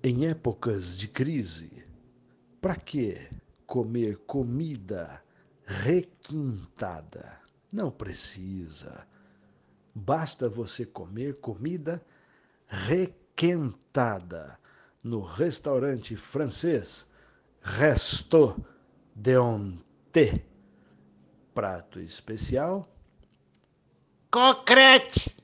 Em épocas de crise, para que comer comida requintada? Não precisa. Basta você comer comida requentada no restaurante francês Resto de Onté. Prato especial: coquerette.